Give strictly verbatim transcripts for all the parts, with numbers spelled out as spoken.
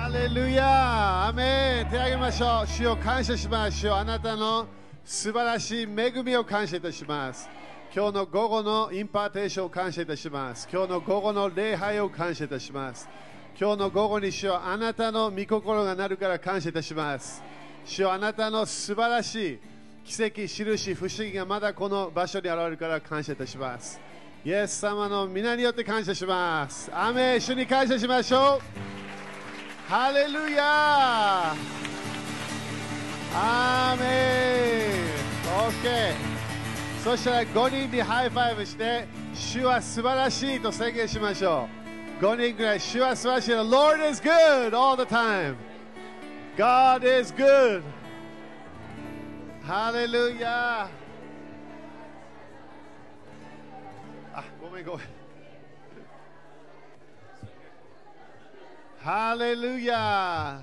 レルヤアメン。手を挙げましょう。主を感謝しましょう。あなたの素晴らしい恵みを感謝いたします。今日の午後のインパーテーションを感謝いたします。今日の午後の礼拝を感謝いたします。今日の午後に主よあなたの御心がなるから感謝いたします。主よあなたの素晴らしい奇跡、印、不思議がまだこの場所に現れるから感謝いたします。イエス様の皆によって感謝します。アメン。主に感謝しましょう。ハレルヤー。アーメン。OK。そしたらごにんにハイファイブして、主は素晴らしいと宣言しましょう。ごにんぐらい、主は素晴らしい。The Lord is good all the time. God is good. ハレルヤー。あ、ごめんごめん。ハレルヤ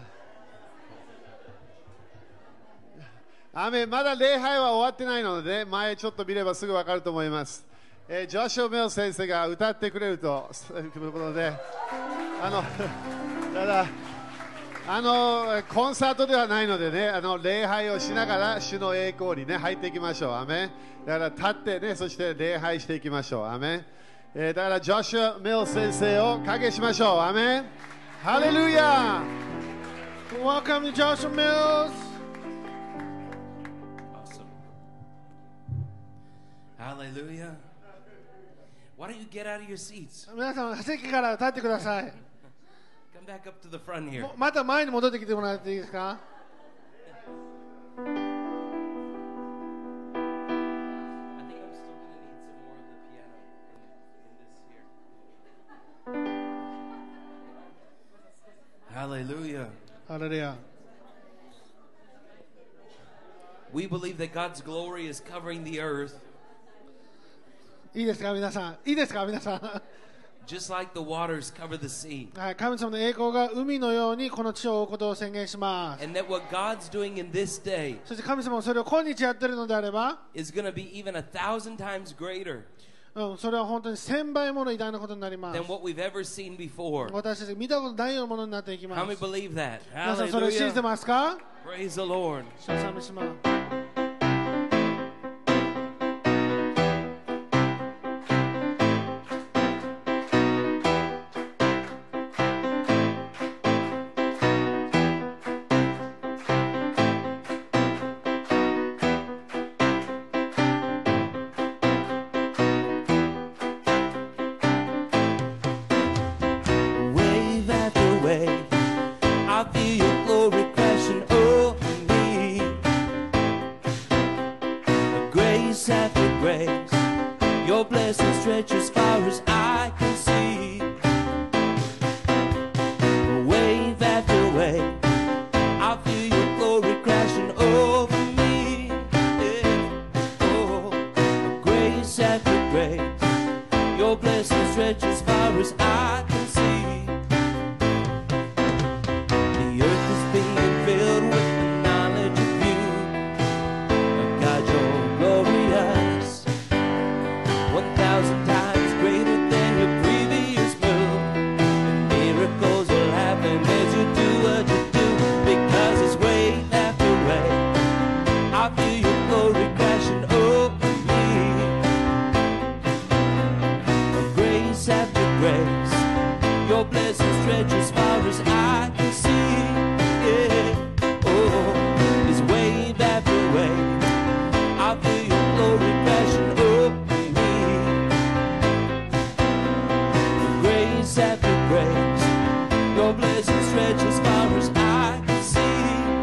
ー。アメン。まだ礼拝は終わってないので、前ちょっと見ればすぐ分かると思います。えー、ジョシュ・メル先生が歌ってくれるということで、あの、ただ、あの、コンサートではないのでね、あの、礼拝をしながら主の栄光にね、入っていきましょう。アメン。だから立ってね、そして礼拝していきましょう。アメン。えー、だからジョシュ・メル先生を影しましょう。アメン。Hallelujah! Welcome to Joshua Mills. Awesome. Hallelujah. Why don't you get out of your seats? 皆さん席から立ってください。 Come back up to the front here. また前に戻ってきてもらっていいですか。 I think I'm still going to need some more of the piano in, in this here. Hallelujah. ハレルヤ。 We believe that God's glory is covering the earth いいですか皆さん。いいですか皆さん。 just like the waters cover the sea. はい、神様の栄光が海のようにこの地を覆うことを宣言します。 And that what God's doing in this day そして神様もそれを今日やっているのであれば、 is going to be even a thousand times greater うん、それは本当に千倍もの偉大なことになります。 than what we've ever seen before. 私たちが見たことないようなものになっていきま How many す。 believe that? 皆さんそれを信じて Hallelujah. ますか。 Praise the Lord. 主を賛美します。 Wave after wave, I feel your glory crashing over me. Grace after grace, your blessing stretches as far as I can see. Wave after wave, I feel your glory crashing over me. Yeah. Oh, grace after grace, your blessing stretches as far as I can see. The earth is being filled with the knowledge of you. God, you're glorious. One thousand times greater than your previous move. And miracles will happen as you do what you do. Because it's wave after wave, I feel your glory crashing over me. Grace after grace, your blessing stretches as far as I can see. Yeah. Oh, it's wave after wave, I feel your glory crashing over me. Grace after grace, your blessing stretches as far as I can see.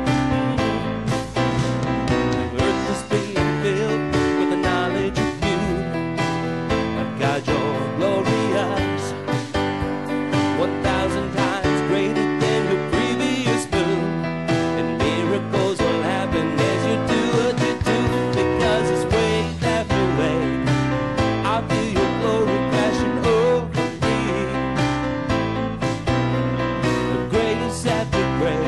The earth is being filled with the knowledge of you. God, you're glorious. One thousand times greater than your previous move. And miracles will happen as you do what you do. Because it's wave after wave, I feel your glory crashing over me. Grace after grace,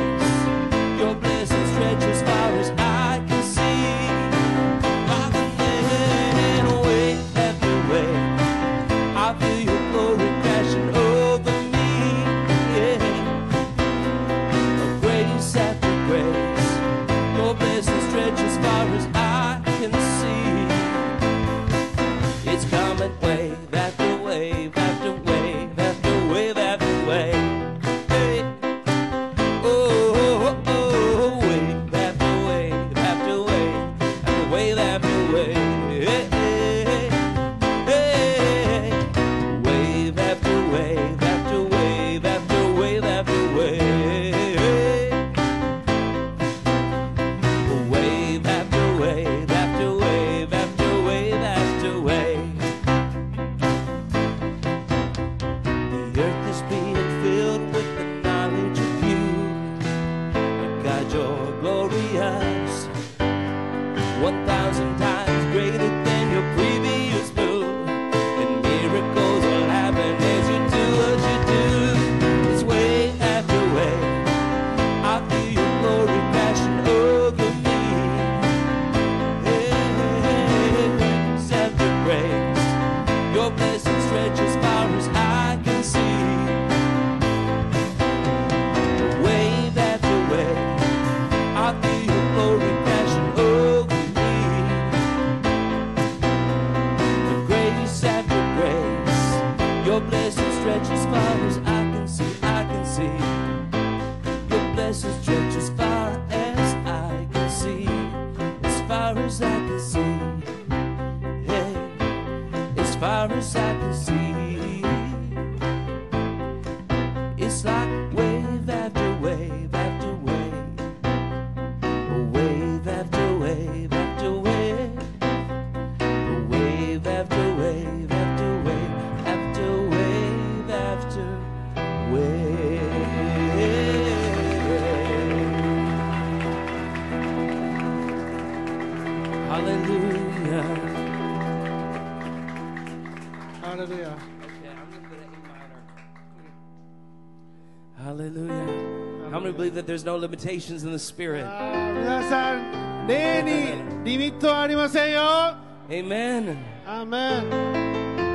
レルヤ。 Hallelujah. How many believe that there's no limitations in the Spirit? あー皆さん、霊にリミットはありませんよ。 Amen. アーメン。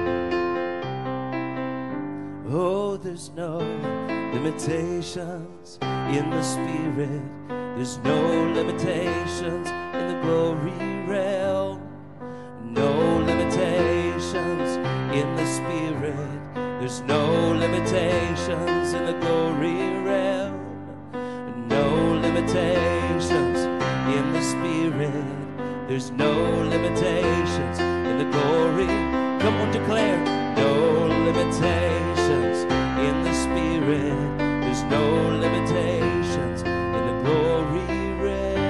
Oh, there's no limitations in the Spirit. There's no limitations in the glory realm. No limitations in the Spirit. There's no limitations in the glory realm. No limitations in the Spirit. There's no limitations in the glory. Come on, declare. No limitations in the Spirit. There's no limitations in the glory realm.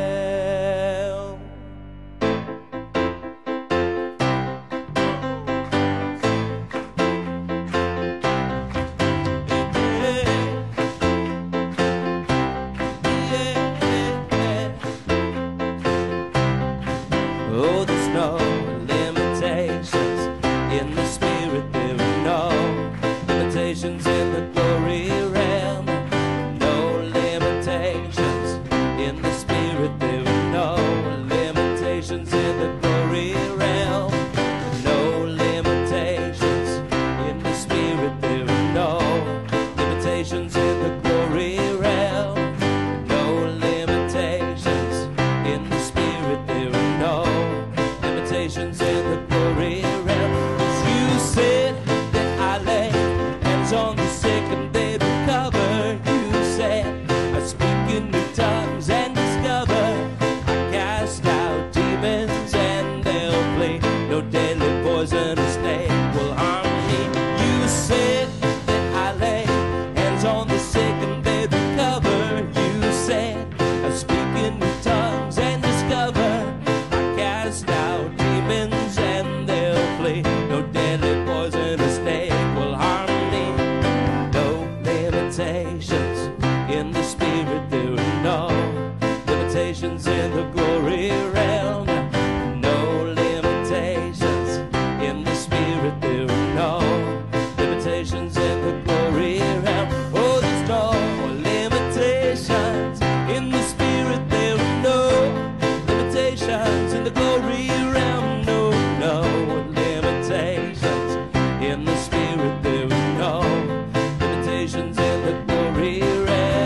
Oh, there's no limitations in the Spirit. There are no limitations in the glory realm. No limitations in the Spirit. There are no limitations in the glory realm. No limitations in the Spirit. There are no limitations in the glory realm. No limitations in the Spirit. There are no limitations in the glory realm. 'Cause you said that I lay hands on the sick and they recover. You said I speak in new tongues and discover. I cast out demons and they'll flee. No deadly poison or snake will harm me. You said that I lay hands on the sick and they recover. You said I speak in new tongues and discover. I cast out demons and they'll flee. No deadly poison or snake will harm me. No limitations in the Spirit. There are no limitations in the glory realm. No limitations in the Spirit. There are no limitations in the glory realm. Oh, there's no limitations in the Spirit. There are no limitations in the glory realm. No, no limitations in the Spirit. There are no limitations in the glory realm.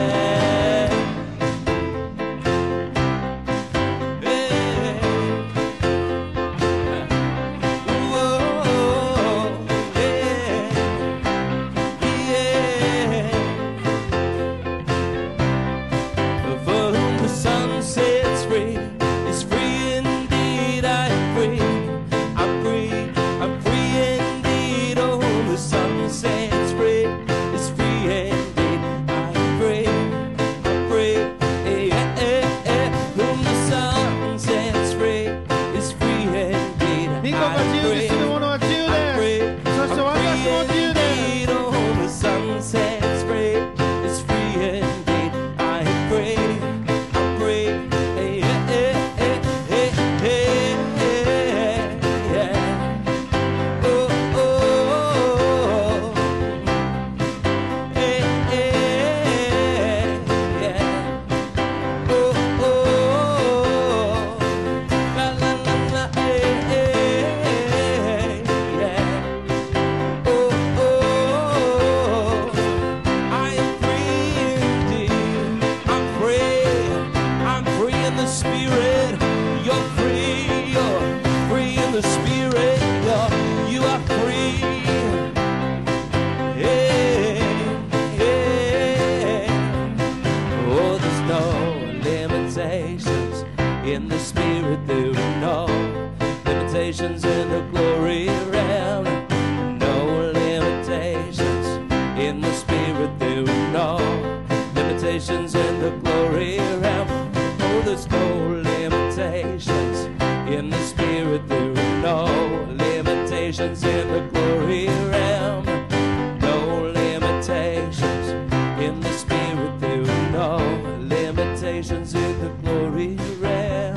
Hey. Whoa, yeah, yeah. For whom the Son sets free is free indeed. I am free. I'm free. I'm free indeed. Oh, whom the Son sets free is free indeed. I am free. I'm free. Eh, eh, eh. Whom the Son sets free is free indeed. 御子が I 自 am 由に free. する者は自由 I'm で free. す。そして私も自由です。 Indeed, oh, whom the Son sets free is free indeed. I am free. I'm free. Hey, hey, hey, hey, hey, hey, yeah. Oh, oh, oh. Hey, hey, yeah. Oh, oh, oh. La, la, la, la, hey, hey, yeah. Oh, oh, I am free indeed. I'm free. I'm free in the Spirit. You're free. You're free in the Spirit. You're, you are free. Hey, hey. Oh, there's no limitations in the Spirit. There are no limitations in the glory realm. No limitations in the Spirit. There are no limitations in the glory realm. Oh, there's no limitations in the Spirit. There are no limitations in the glory realm. No limitations in the Spirit. There are no limitations in the glory realm.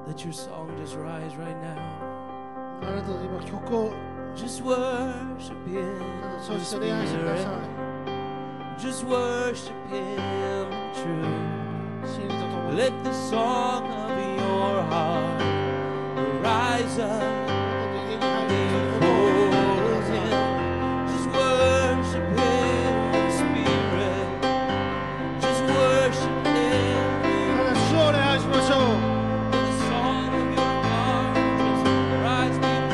Let your song just rise right now. あなたの今曲を Just worship Him. そうして礼拝してください。 Just worship Him true. 真理とともに Let the song of your heart rise up 家に入る before Him. Just worship Him in spirit. Just worship Him. ただ主を礼拝しましょう。 Let the song of your heart just rise before Him.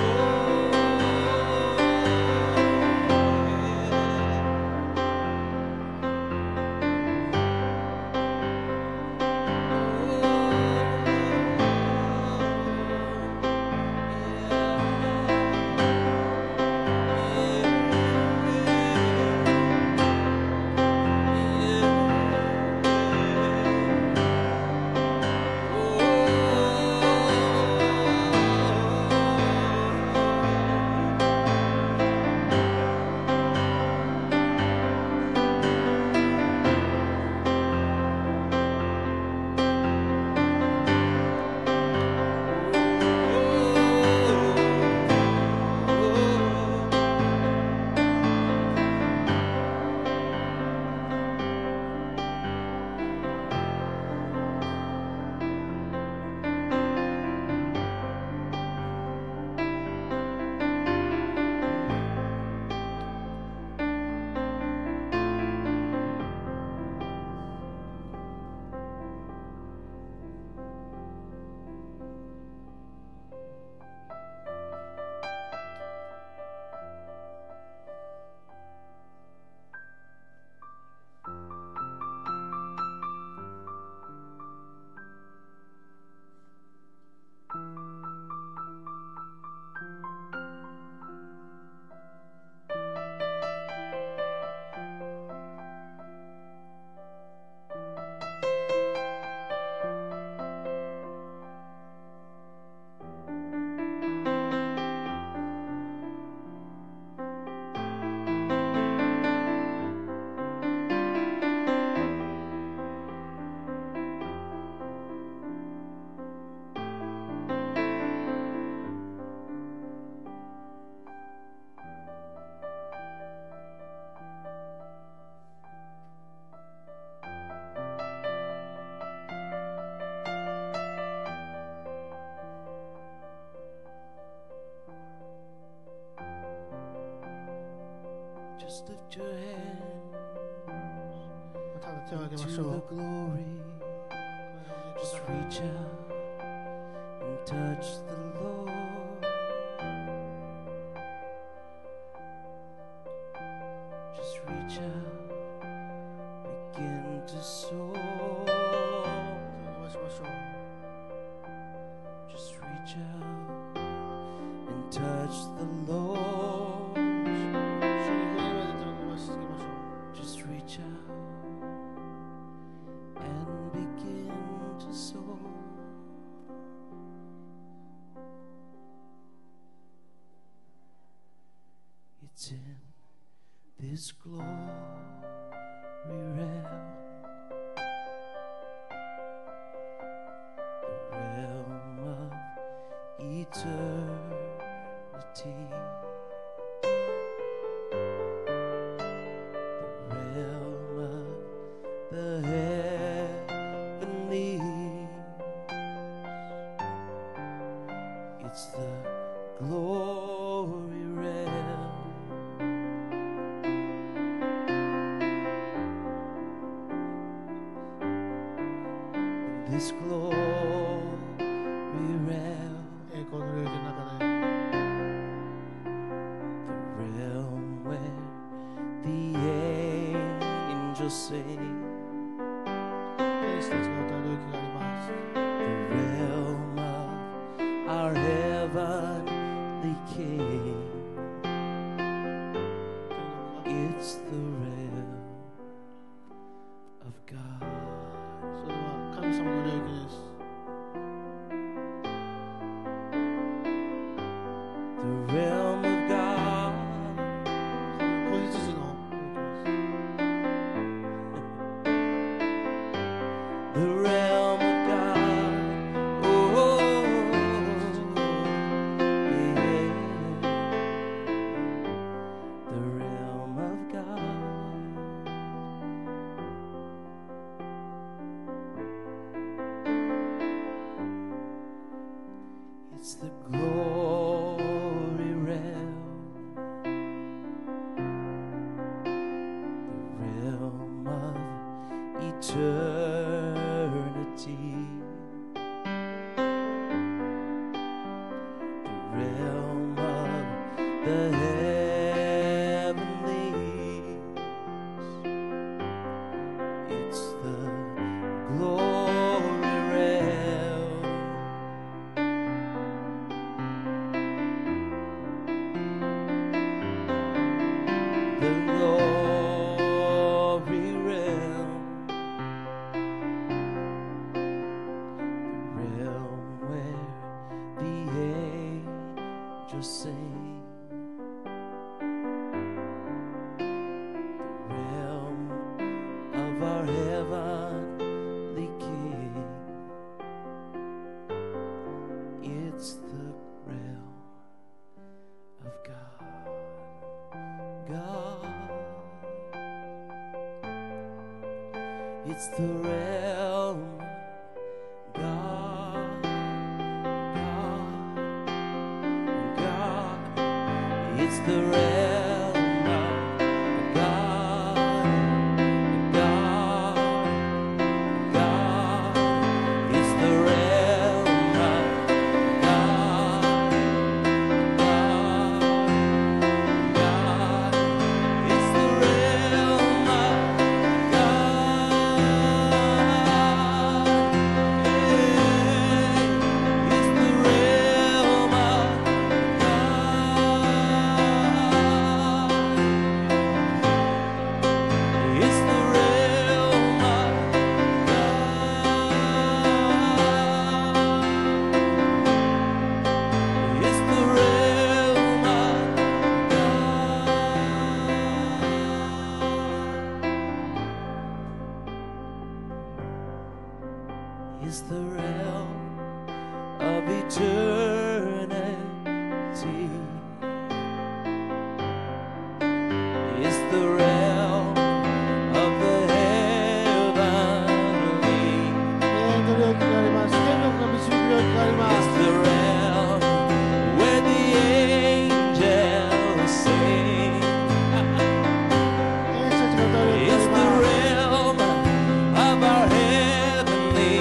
Just lift your hands ただ手を挙げま to しょ the う。 glory. Just reach out and touch the Lord. Just reach out, begin to soar. 手を伸ばしましょう。 Just reach out and touch the Lord. 主に触れるまで手を伸ばし続けましょう。 Just reach out and begin to soar. It's in this glory realm, the realm of eternity. The realm of the heavenlies. It's the glory realm. In this glory realm, 栄光の領域の中で the realm where the angels sing, 天使たちが歌う領域があります。 the realm of our heavenly King. It's the realm of God. それは神様の領域です。 The realm of God. 子羊の領域です。 It's the glory realm, the realm of eternity, the realm of the heavenlies. It's the glory realm, the glory realm, the realm where the angels sing, the realm of our heavenly King. It's the realm of God. God. It's the realm of God. God. God. It's the realm of God. God. God. It's the realm of God. God. God. It's the realm of It's the realm of eternity. It's the realm of the heavenly. 天の領域があります。天国が導く領域がありま It's す。 the realm where the angels sing. 天使たちが歌う領域 It's が the あります。 realm of our heavenly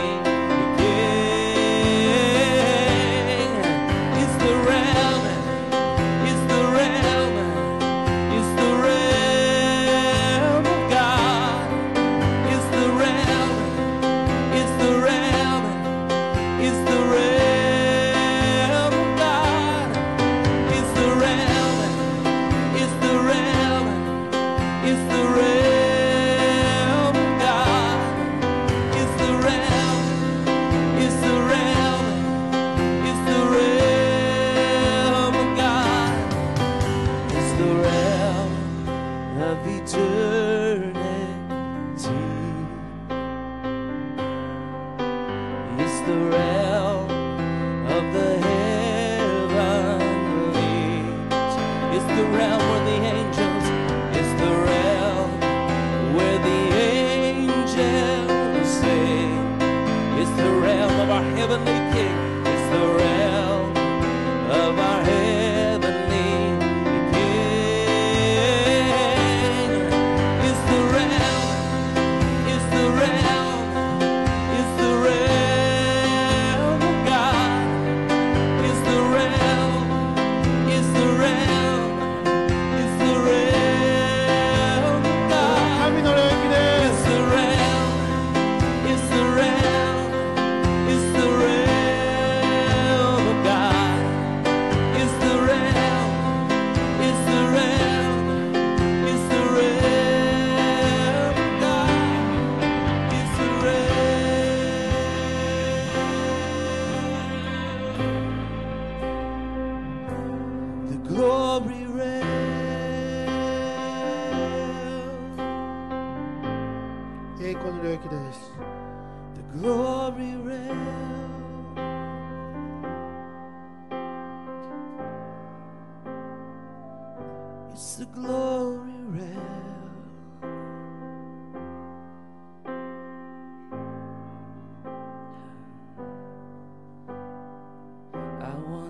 King. It's the realm, it's the realm, it's the realm of God. It's the realm, it's the realm, it's the realm of God. It's the realm, it's the realm, it's the realm of God. It's the realm, it's the realm, it's the realm of God. It's the realm of eternity. It's the realm of the heavenlies. It's the realm where the angels, it's the realm where the angels sing. It's the realm of our heavenly King. It's the realm of our heavenly King. It's the realm, it's the realm, it's the realm of God. It's the realm, it's the realm, it's the realm of God. 神の領域で It's す。 the realm, it's the realm, it's the realm of God. It's the realm, it's the realm, it's the realm of God. It's the realm, the glory realm. 栄光の領域です。 The glory realm. It's the glory realm. I want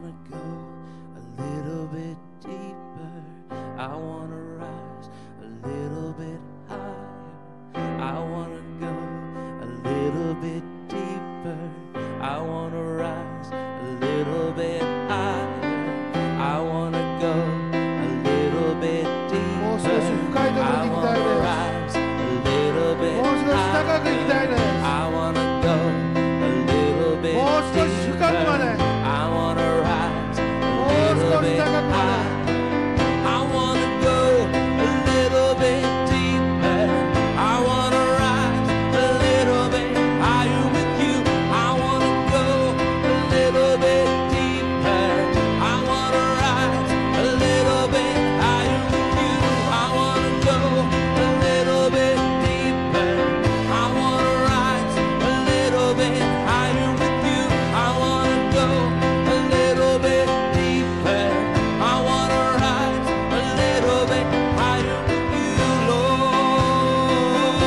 wanna rise a little bit higher. I wanna go a little bit もう少し deeper. 深いところ I に行きた wanna いです rise a little bit もう少し高く行きたいです higher. I wanna go a little bit もう少し深くまで deeper. I wanna rise a もう little 少し bit 高くま higher. I wanna go a little bit deeper. I wanna rise a little bit higher with you. I wanna go a little bit deeper. I wanna rise a little bit higher with you. I wanna go a little bit deeper. I wanna rise a little bit higher with you. I wanna go a little bit deeper. I wanna rise a little bit higher with you, Lord.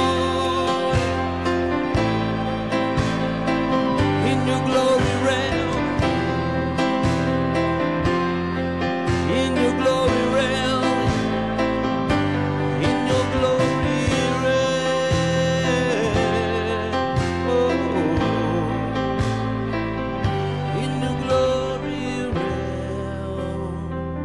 In your glory realm, in your glory realm, in your glory realm, oh, in your glory realm,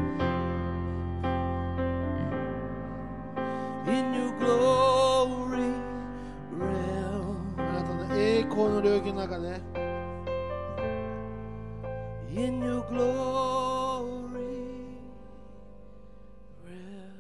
in your glory realm, あなたの栄光の領域の中で in your glory realm.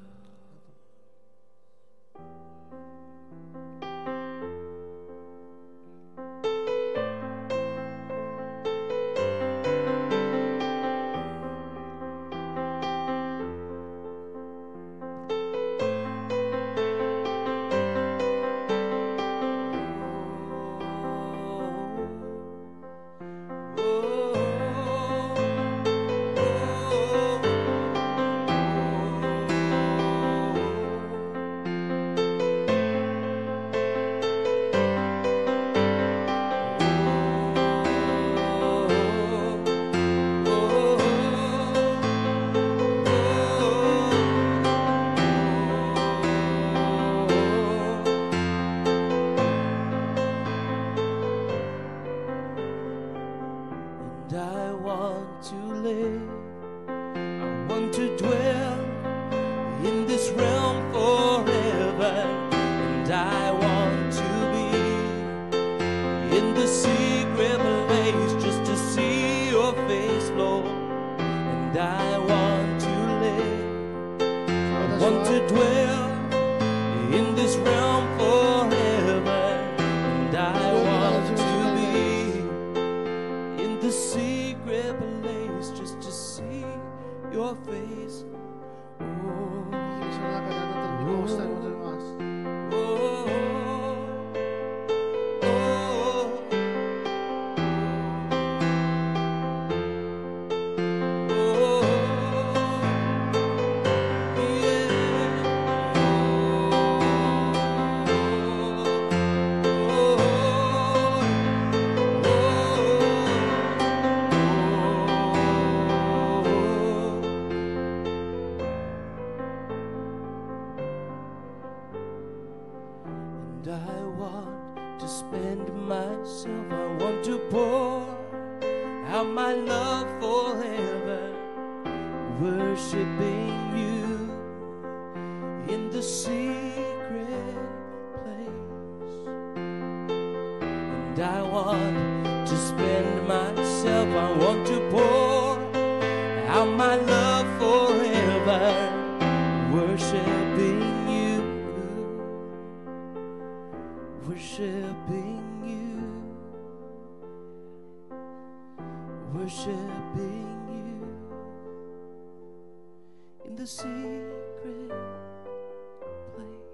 And I want to live, I want to dwell in this realm forever. And I want to be in the secret place just to see your face, Lord. And I want to live, I want to dwell in this realm forever. And I want to be in the secret place just to see your face. Oh, その中であなたの御顔をしたいと思います oh, oh, And I want to spend myself, I want to pour out my love forever, worshiping you in the secret place. And I want to spend myself, I want to pour out my love forever, worshiping you, worshiping you, worshiping you in the secret place.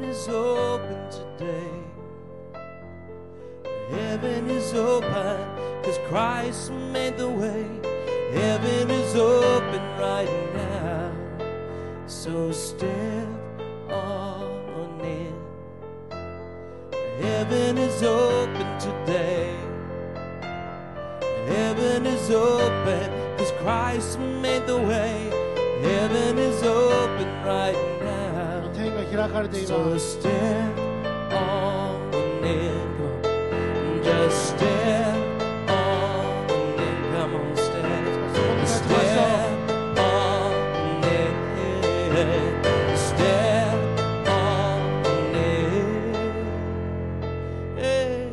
is open today. Heaven is open, cause Christ made the way. Heaven is open right now. So step on in. Heaven is open today. Heaven is open, cause Christ made the way. Heaven is open right now. 天が開かれてい So ます。 step on in. Just step on in. Come on, step. そこに立ちましょう。 Step on in. Step on in. Hey.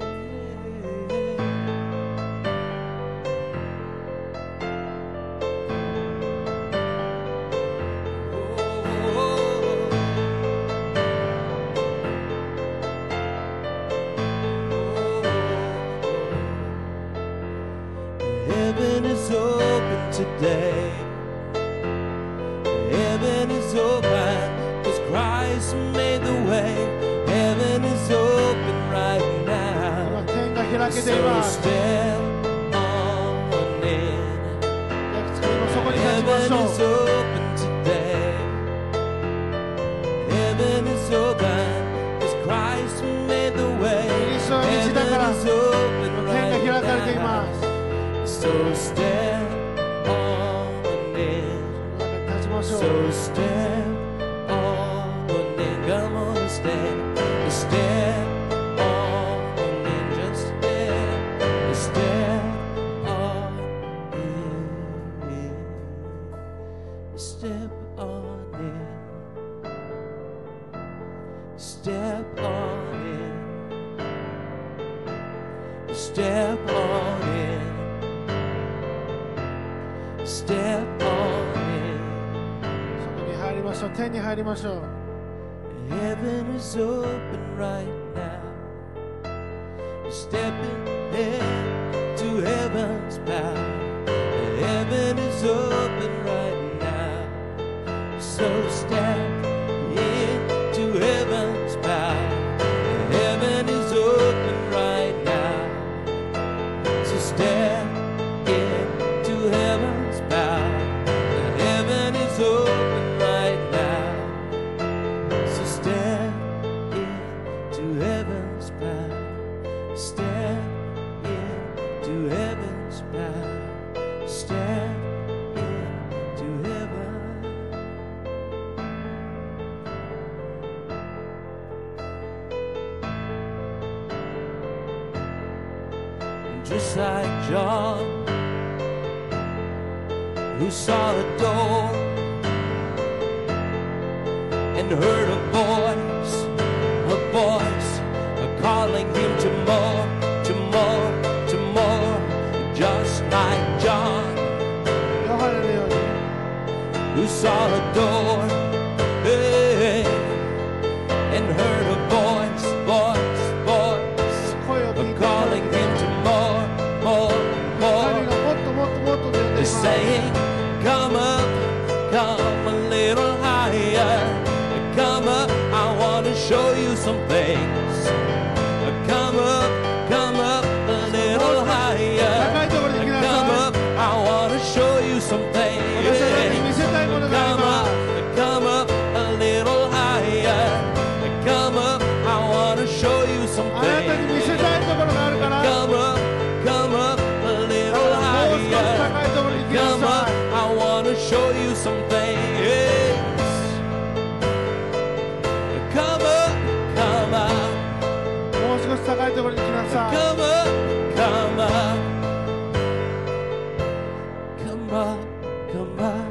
Heaven is open today. Heaven is open, cause Christ made the way. Heaven is open right 今 now. 天が開けてい So ます。 step on in. 焼き付けの底に立ちま Heaven しょ is う。 open today. Heaven is open, cause Christ made the way. キリストは道だから Heaven is open 天が right 開かれてい now. ます。 So step on in. 立ちましょう。 So step on in. Come on, step. Step on in. Just step. Step on in. Step on in. Step on in. Step on in. Step on in. そこに入りましょう。天に入りましょう。 Heaven is open right now. Stepping into heaven's power. Heaven is open right now. So step into heaven's power. Heaven is open right now. So step into heaven's power. Heaven is open right now. So step into heaven's power. Step into heaven's power. Step into heaven. And just like John, who saw a door and heard a voice, a voice calling him to more, to more, to more. Just like John, ヨハネのように who saw a door, hey, and heard a voice, voice, voice 声を聞いて calling him to more, more, 神 more. がもっともっともっとと呼んでいま They're す。 saying, come up, come a little higher. Come up, I want to show you some things. Come up, come up a little 高 higher. いところに行きな Come さ up, I want to show you some い。私たちに見 things. せたいものがあり Come ま up, す。 come up a little higher. Come up, I want to show you some あなたに見せ things. たいところがあるから、 Come up, come up a little もう少し higher. 高いところに行きな Come さ up, い。 I want to show you some things. Come up, come up, もう少し高いところに行きなさい。 come up, come up, come up, come up.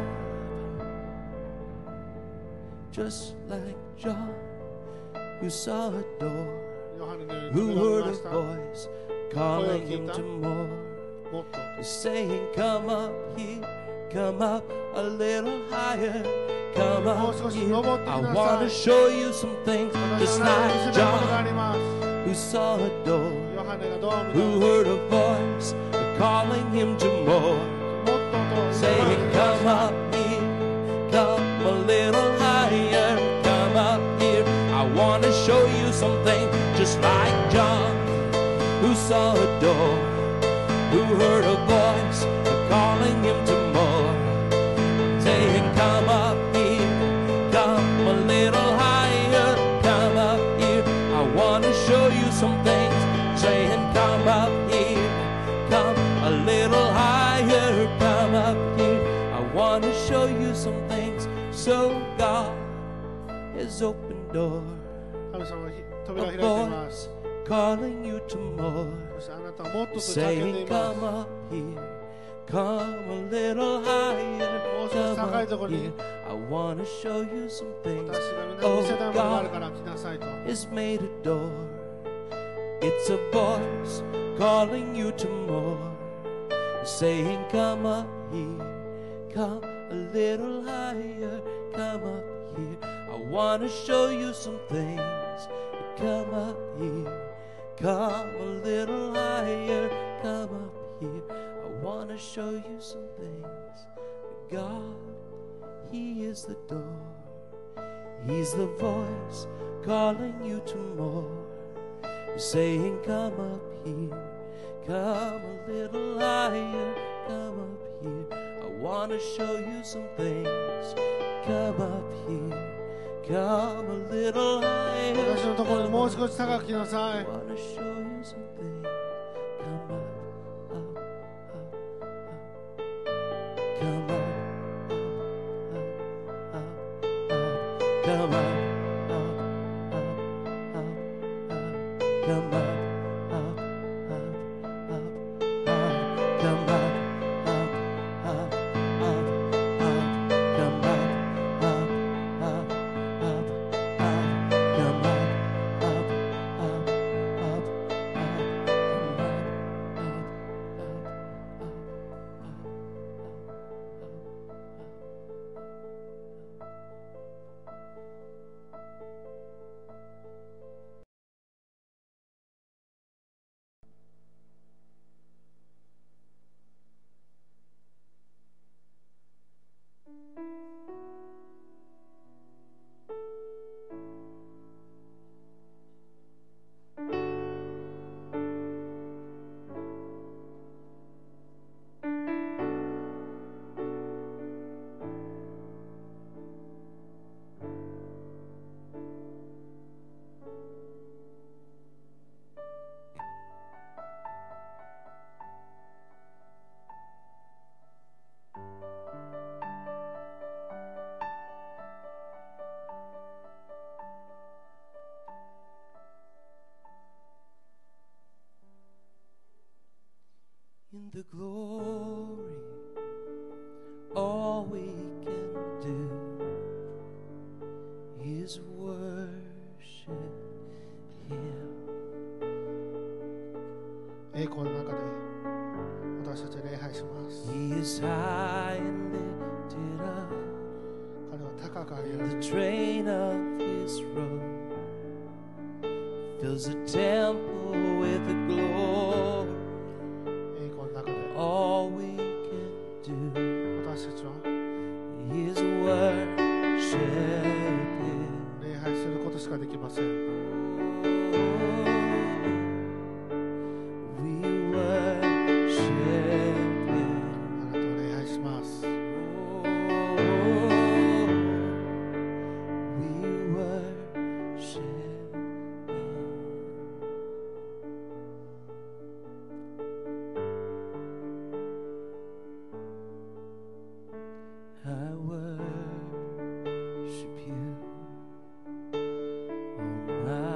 Just like John, who saw a door, ヨハネのように who 扉を heard 見 a ました。 voice calling him to more. もっと Saying, come up here, come up a little higher, come もう up 少し here. 登って I きな want さ to い。 show you some things, 私 just はあなたに見せ like たいものがあ John, ります。 who saw a door, ヨハネがドーム who の heard a voice calling him to more. もっとと Saying, come up here, come a little higher, come up here. I want to show you something just like John, who saw a door, who heard a voice calling him to more, saying, come up here, come a little higher, come up here. I want to show you some things, saying, come up here, come a little higher, come up here. I want to show you some things. So God has opened door, 神様は扉を a 開いています。 voice calling you to more, そしてあなたはもっとと叫んで saying, います。 come up here, come a little higher, もう少し come 高い up ところに here. I want to show you some things. 私が皆に見せたいものがあるから Oh, 来なさいと。 Has made a door. It's a voice calling you to more, saying, come up here, come a little higher, come up here. I want to show you some things. Come up here, come a little higher, come up here. I want to show you some things. God, He is the door. He's the voice calling you to more, saying, come up here, come a little higher, come up here. I want to show you some things. Come up here, come a little higher. 私のところにもう少し高く来なさ I い。 want to show you some things. Come up, up, up, up. Come up, up, up, up, up. Come up, up, up, up, up. Come up, up, up, up, up. Come up, up, up, up, up. Come up, up, up, up, up. Come up, up, up, up, up. In the glory, all we can do is worship Him. 栄光の中で私たちは礼拝します。 He is high and lifted up, 彼は高く上げられ the る。 train of His robe fills the temple with the glory. 栄光の中で All we can do 私たちは is worship Him. 礼拝することしかできません。 We worship Him. あなたを礼拝します。 We worship Him. I worship You, oh my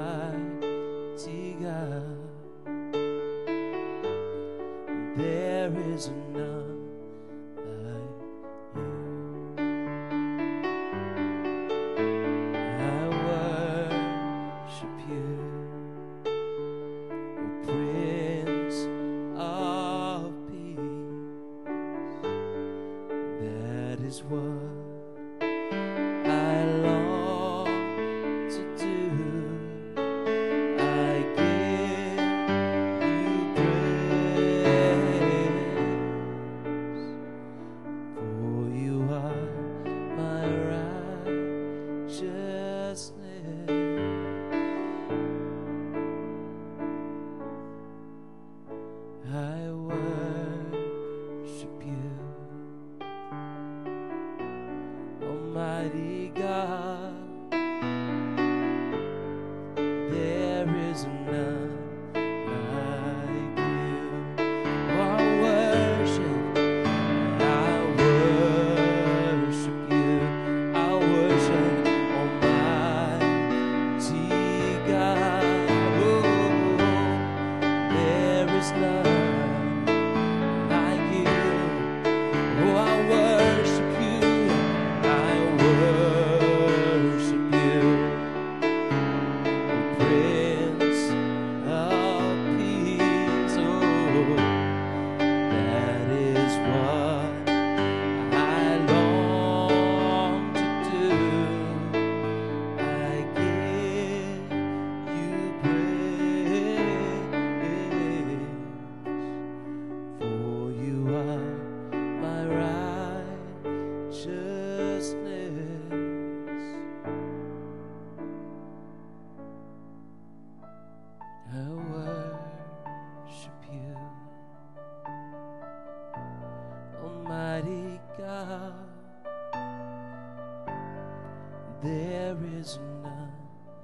There is none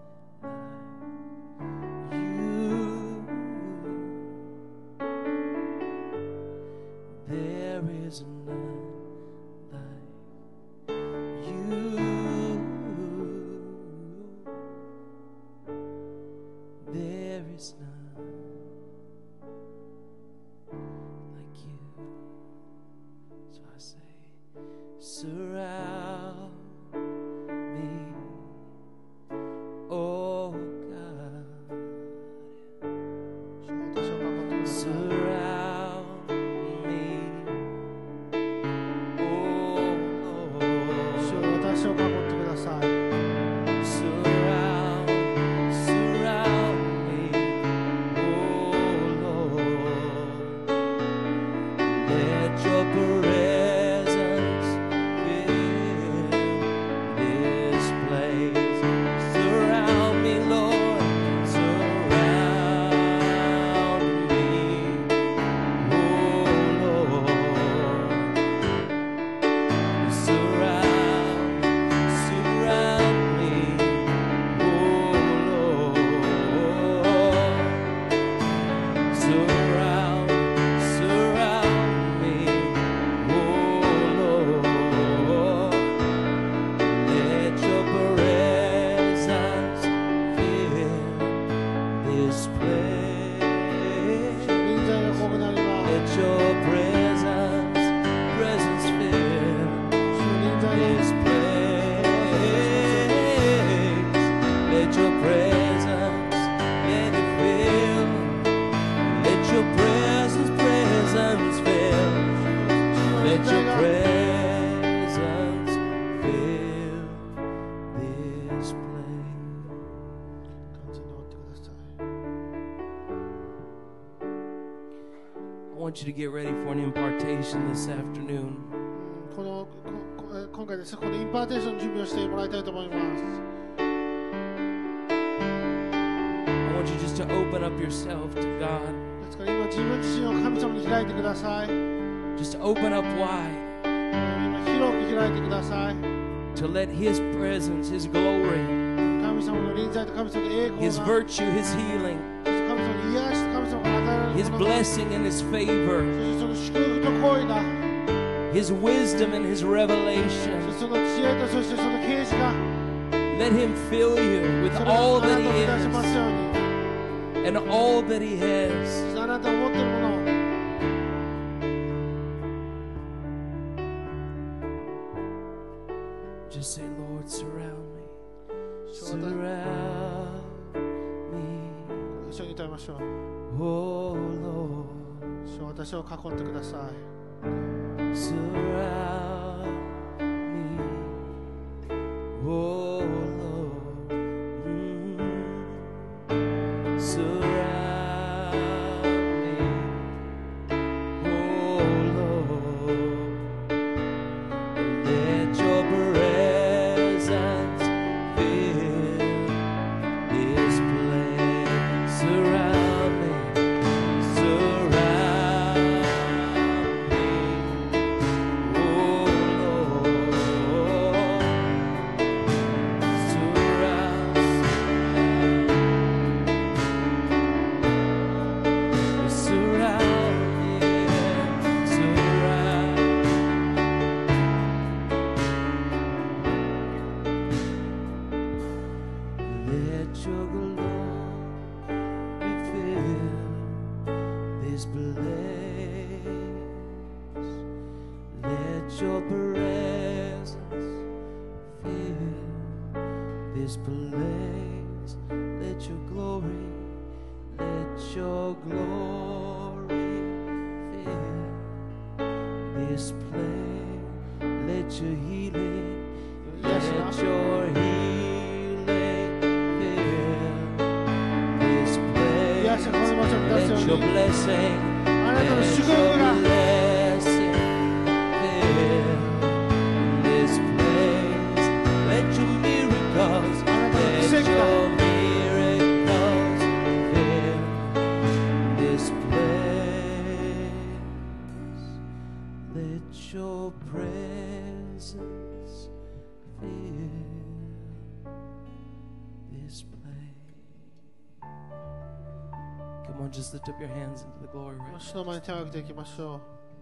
like you. There is none like you. There is none like you. So I say, surround me, oh God. 主を私を守ってください。 Surround me, oh Lord. 主を私を守ってください。 Surround, surround me, oh Lord. Let your presence fill this place. Surround me, Lord. Surround me, oh Lord. Surround, surround me, oh Lord. Surround, surround me, oh Lord. Let your presence fill this place. 臨在が多くなります。 Let your presence, presence fill 主の臨在が this place. Let your presence, let it fill. Let your presence, presence fill. 主の臨 Let 在 your が presence fill this place. 完全に覆ってください。 I want you to get ready for an impartation this afternoon. うんこのここえ今回ですね、このインパーテーションの準備をしてもらいたいと思います。 I want you just to open up yourself to God. ですから今自分自身を神様に開いてください。 Just open up wide 今広く開いてください。 to let His presence, His glory, 神様の臨在と神様の栄光 His が、 virtue, His healing, そして神様の癒しと神様が与えられ His るものが、 blessing and His favor, そしてその祝福と行為が、 His wisdom and His そ revelation. してその知恵とそしてその啓示が、 Let Him fill you with それが all あな that たを He 満たしますように、 is and all that He そ has. してあなたを持っているものを、 Just say, Lord, surround me. 主を私 Surround me. 一緒に歌いましょう。 Oh Lord, 主を私を囲んでください。 surround me. Oh Lord, mm. Surround me. Oh Lord, let your presence fill this place. Surround me. Surround me, oh Lord. Surround, surround me, surround. Let your glory fill this place. Let your presence fill this place. Let your glory, let your glory fill this place. Let your healing, let your healing fill this place. 癒しがこの場所を満たすよ Let う your に、 blessing, あなたの let 祝 your 福が、 blessing fill this place. Let your miracles, あなたの let 奇跡が、 your miracles fill this place. Let your presence fill this place. Come on, just lift up your hands into the glory right 主の前に手を挙げていきましょ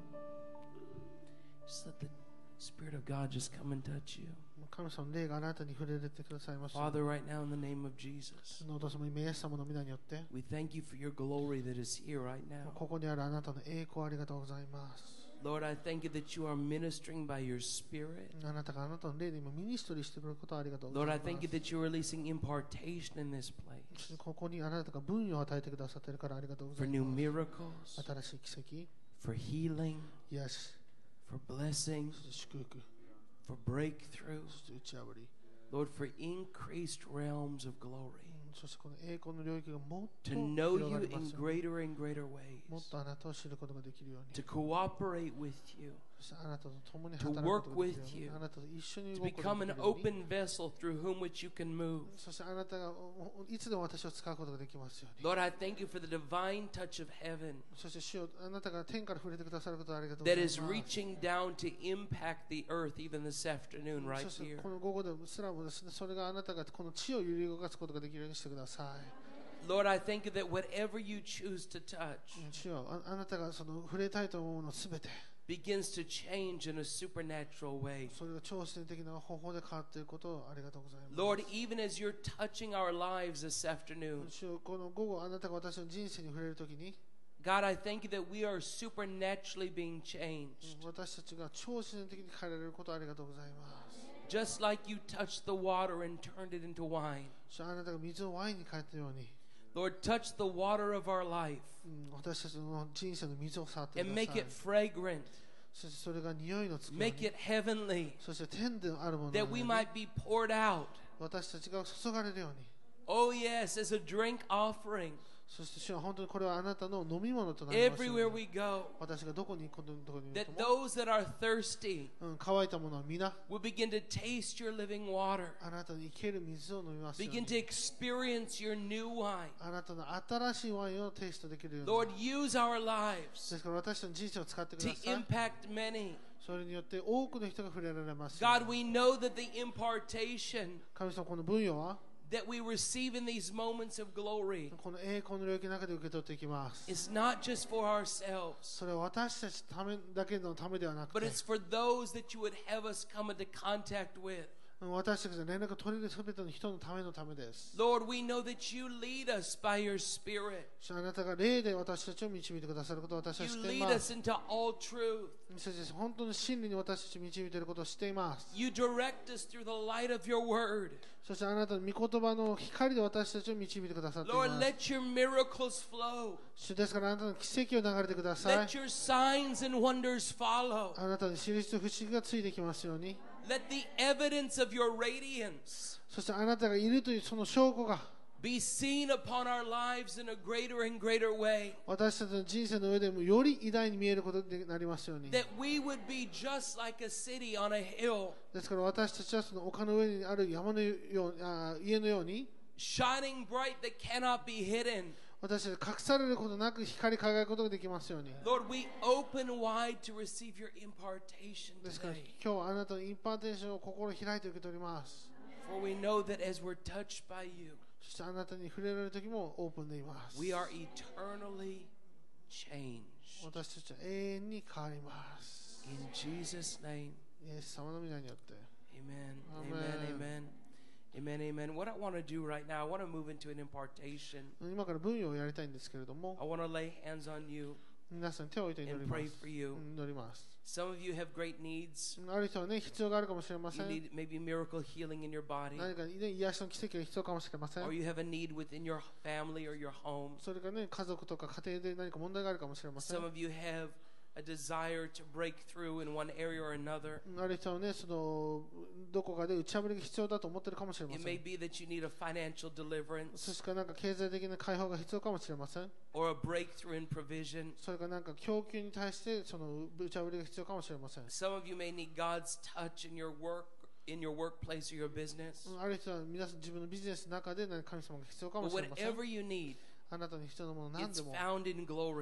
Just let the Spirit of God just come and touch you. う。神様の霊があなたに触れてくださいました。 Father, right now in the name of Jesus, 主のお父様、イエス様の皆によって、 we thank you for your glory that is here right now. ここにあるあなたの栄光ありがとうございます。 Lord, I thank you that you are ministering by your Spirit. あなたがあなたの霊で今ミニストリーしてくれることをありがとうご Lord, ざ I います。 thank you that you're releasing impartation in this place ここにあなたが分与を与えてくださっているからありがとうござ for い new ます。 miracles, 新しい奇 for healing, 跡、癒し、 for blessing, そして祝福、 for breakthrough. そして打ち破り、 Lord, for increased realms of glory. そしてこの栄光の領域がもっと To know 広が you りま in すように。 greater and greater もっ ways. とあなたを知ることができるように。 To cooperate with you. そしてあなたと共に To 働くことができるよ work うに。 with you. あなたと一緒に To 動くこと become が an できるように。 open vessel through whom which you can move. そしてあなたがいつでも私を使うことができますように。 Lord, I thank you for the divine touch of heaven そして主よ、あなたが天から触れてくださることをありがとうござ that いま is す。 reaching down to impact the earth even this afternoon right そして here. この午後でもすらもですね、それがあなたがこの地を揺り動かすことができるようにしてください。 Lord, I thank you that whatever you choose to touch 主よ、ああなたがその触れたいと思うものすべて、 begins to change in a supernatural way. それが超自然的な方法で変わっていることをありがとうございます。 Lord, even as you're touching our lives this afternoon, 主よ、この午後あなたが私の人生に触れるときに、 God, I thank you that we are supernaturally being changed. 私たちが超自然的に変えられることをありがとうございます。 Just like you touched the water and turned it into wine. 主よ、あなたが水をワインに変えたように、 Lord, touch the water of our life うん私たちの人生の水を触ってく and だ make さい it。fragrant, そしてそれが匂いのつくよう make に、 it heavenly, そして天であるものの that よう we に might be poured out. 私たちが注がれるように。 Oh, yes, as a drink offering そして主は本当にこれはあなたの飲み物となりますよう everywhere に。 we go, 私がどこに行くことどこに行 that くとも、 those that are thirsty うん、乾いたものは皆 will begin to taste your living water, あなたの生ける水を飲みますよう begin に。 to experience your new wine. あなたの新しいワインをテイストできるように。 Lord, use our で lives すから私たちの人生を使ってく to ださい。 impact many. それによって多くの人が触れられますように。 God, we know that the impartation 神様、この分与は that we receive in these moments of glory この栄光の領域の中で受け取っていきます。 is not just for ourselves, それは私たちのためだけのためではなく but て、 it's for those that you would have us come into contact with. 私たちが連絡を取れるすべての人のためのためです。 Lord, we know that you lead us by your Spirit. あなたが霊で私たちを導いてくださることを私は You 知ってい lead ま us す。 into all truth. そして本当に真理に私たちを導いていることを知っています。 You direct us through the light of your word. そしてあなたの御言葉の光で私たちを導いてくださってい Lord, ます。 let your miracles flow. 主ですからあなたの奇跡を流れてください Let。your signs and wonders follow. あなたの印と不思議がついてきますように。 Let the evidence of your radiance そしてあなたがいるというその証拠が be seen upon our lives in a greater and greater way. 私たちの人生の上でもより偉大に見えることになりますように。 That we would be just like a city on a hill, ですから私たちはその丘の上にある山のようあ家のように shining bright that cannot be hidden. 私たち隠されることなく光り輝くことができますように。 Lord, we open wide to receive your impartation ですから today. 今日はあなたのインパーテーションを心開いて受け取ります。 For we know that as we're touched by you, そしてあなたに触れられる時もオープンでいます。 we are eternally changed. 私たちは永遠に変わります。 In Jesus' name, イエス様の皆によって。 amen, Amen. amen, amen, amen, amen. What I want to do right now, I want to move into an impartation. 今から分与をやりたいんですけれども、 I want to lay hands on you 皆さんに手を置いて祈り and ま pray す。 for you. 祈ります。 Some of you have great needs. ある人はね、必要があるかもしれませ You ん。 need maybe miracle healing in your body, 何か、ね、癒しの奇跡が必要かもしれません or。you have a need within your family or your home. それがね、家族とか家庭で何か問題があるかもしれません Some。of you have a desire to break through in one area or another. ある人はね、そのどこかで打ち破りが必要だと思ってるかもしれま It せ may ん。 be that you need a financial そ deliverance してかなんか経済的な解放が必要かもしれません。 or a breakthrough in provision. それかなんか供給に対してその打ち破りが必要かもしれません。 Some of you may need God's touch in your work, in your workplace or your business. ある人は皆さん自分のビジネスの中で何か神様が必要かも But しれません。 whatever you need, あなたに必要なもの何 it's でも found in glory.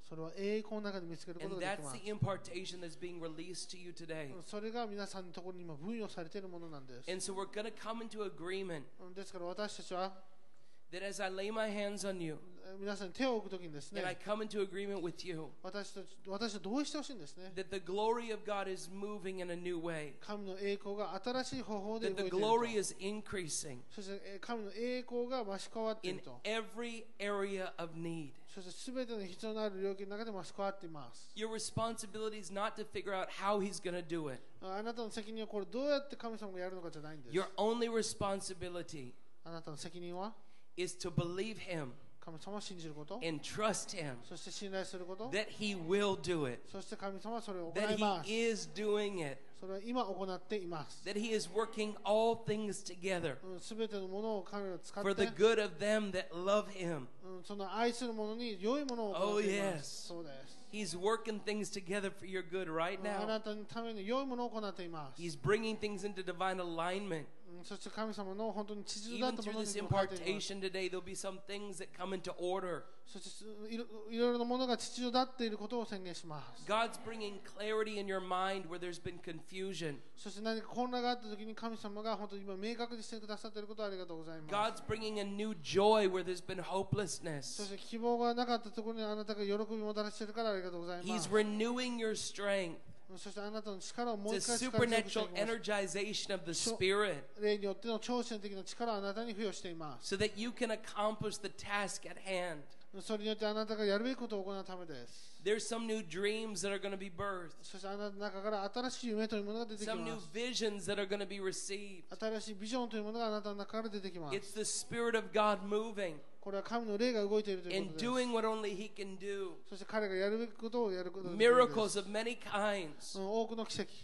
それは栄光の中で見つけること And ができ that's ます the impartation that's being released to you today. それが皆さんのところに今分与されているものなんです And so we're going to come into agreement ですから私たちは that as I lay my hands on you 皆さんに手を置くときにです and I ね come into agreement with you, 私たち私と同意してほしいんですね that the glory of God is moving in a new way, 神の栄光が新しい方法で that 動い the ている glory と is increasing そしてえー神の栄光が増し変わってい in ると every area of need. そして全ての必要のある領域の中で増し変わっています Your responsibility is not to figure out how he's going to do it. あなたの責任はこれどうやって神様がやるのかじゃないんです Your only responsibility あなたの責任は is to believe him 神様を信じること and trust him そして信頼すること that he will do it, そして神様はそれを行 that います he is doing it, それは今行っています that he is working all things together すべてのものを神が使っ for the て good of them that love him. うんその愛する者に良いものを行っていま Oh, yes. すそうです He's working things together for your good right あ now. なたのために良いものを行っています He's bringing things into divine alignment. うんそして神様の本当に秩序だっ Even たも through のに this も変えています impartation today, there'll be some things that come into order. そしていろいろいろなものが秩序だっていることを宣言します God's bringing clarity in your mind where there's been confusion. そして何か混乱があった時に神様が本当に今明確にしてくださっていることをありがとうございます God's bringing a new joy where there's been そ hopelessness. して希望がなかったところにあなたが喜びをもたらしているからありがとうございま He's す renewing your strength. そしてあなたの力をもう It's 一 a 回力強く supernatural していきます energization of the Spirit 霊によっての超自然的な力をあなたに付与しています so that you can accomplish the task at hand. それによってあなたがやるべきことを行うためです There's some new dreams that are going to be birthed, そしてあなたの中から新しい夢というものが出てき some new ます visions that are going to be received. 新しいビジョンというものがあなたの中から出てきます It's the Spirit of God moving これは神の霊が動いているというこ and とです doing what only He can do. そして彼がやるべきことをやることができるんです Miracles of many kinds うん多くの奇跡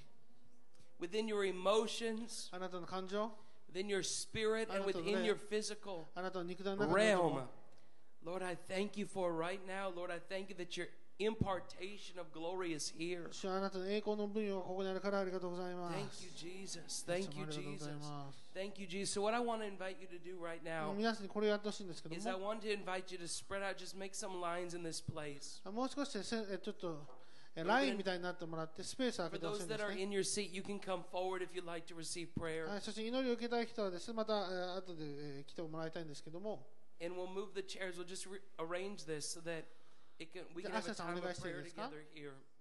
within your emotions, あなたの感情 within your spirit, and within your physical あなたの肉体の中に realm. Lord, I thank you for right now. Lord, I thank you that your impartation of glory is here. 主はあなたの栄光の分与がここにあるからありがとうございま Thank す you, Jesus. Thank you, いつもありがとうござい Jesus. ます Thank you, Jesus. So, what I want to invite you to do right now 皆さんにこれをやってほしいんですけど is I も want to invite you to spread out, just make some lines in this place. もう少しせえちょっとえラインみたいになってもらってスペースを空 For けてほしい those んで that す are ね in your seat, you can come forward if you'd like to receive は prayer. い、そして祈りを受けたい人はですねまたえー後でえー来てもらいたいんですけども And we'll move the chairs. We'll just re- arrange this so that it can, we can have a time of prayer together here.